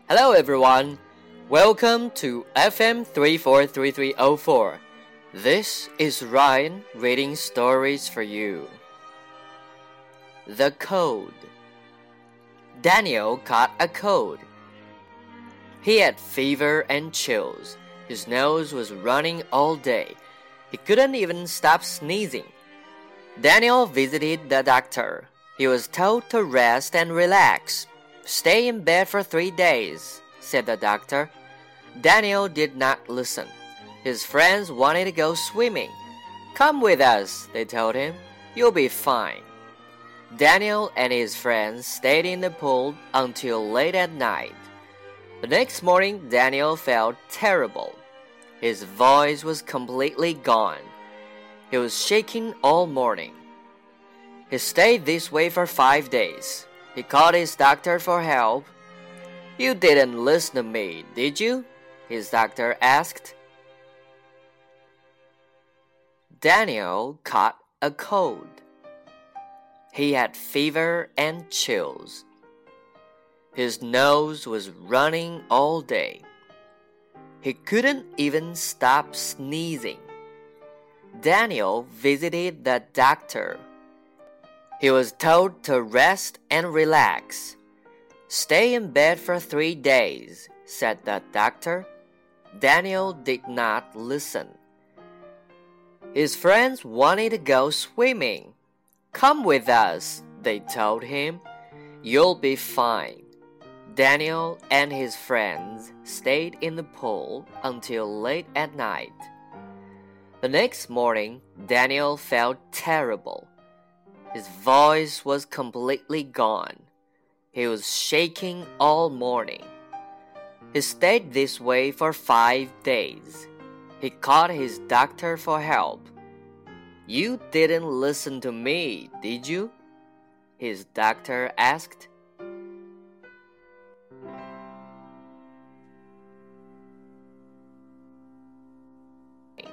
Hello everyone, welcome to FM 343304. This is Ryan reading stories for you. The Cold. Daniel caught a cold. He had fever and chills. His nose was running all day. He couldn't even stop sneezing. Daniel visited the doctor. He was told to rest and relax.Stay in bed for 3 days, said the doctor. Daniel did not listen. His friends wanted to go swimming. Come with us, they told him. You'll be fine. Daniel and his friends stayed in the pool until late at night. The next morning, Daniel felt terrible. His voice was completely gone. He was shaking all morning. He stayed this way for 5 days.He called his doctor for help. You didn't listen to me, did you? His doctor asked. Daniel caught a cold. He had fever and chills. His nose was running all day. He couldn't even stop sneezing. Daniel visited the doctor.He was told to rest and relax. Stay in bed for 3 days, said the doctor. Daniel did not listen. His friends wanted to go swimming. Come with us, they told him. You'll be fine. Daniel and his friends stayed in the pool until late at night. The next morning, Daniel felt terrible.His voice was completely gone. He was shaking all morning. He stayed this way for 5 days. He called his doctor for help. You didn't listen to me, did you? His doctor asked.